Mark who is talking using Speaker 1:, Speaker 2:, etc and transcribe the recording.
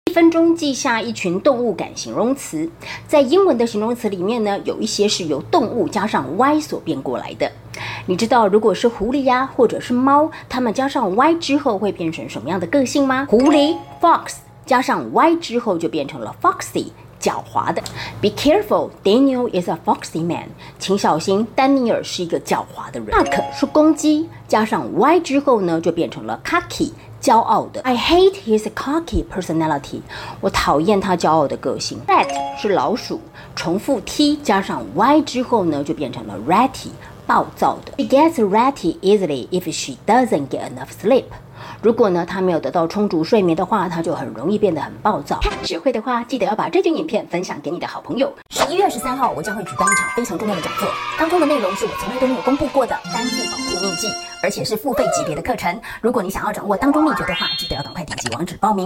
Speaker 1: 1分钟记下一群动物感形容词。在英文的形容词里面呢，有一些是由动物加上 y 所变过来的。你知道如果是狐狸呀，或者是猫，它们加上 y 之后会变成什么样的个性吗？狐狸 fox 加上 y 之后就变成了 foxy。狡猾的 ，Be careful, Daniel is a foxy man。请小心，丹尼尔是一个狡猾的人。Duck 是公鸡，加上 y 之后呢，就变成了 cocky， 骄傲的。I hate his cocky personality。我讨厌他骄傲的个性。Rat 是老鼠，重复 t 加上 y 之后呢，就变成了 ratty， 暴躁的。She gets ratty easily if she doesn't get enough sleep。如果呢，他没有得到充足睡眠的话，他就很容易变得很暴躁。学会的话，记得要把这支影片分享给你的好朋友。11月13号，我将会举办一场非常重要的讲座，当中的内容是我从来都没有公布过的单字保护秘籍，而且是付费级别的课程。如果你想要掌握当中秘诀的话，记得要赶快点击网址报名。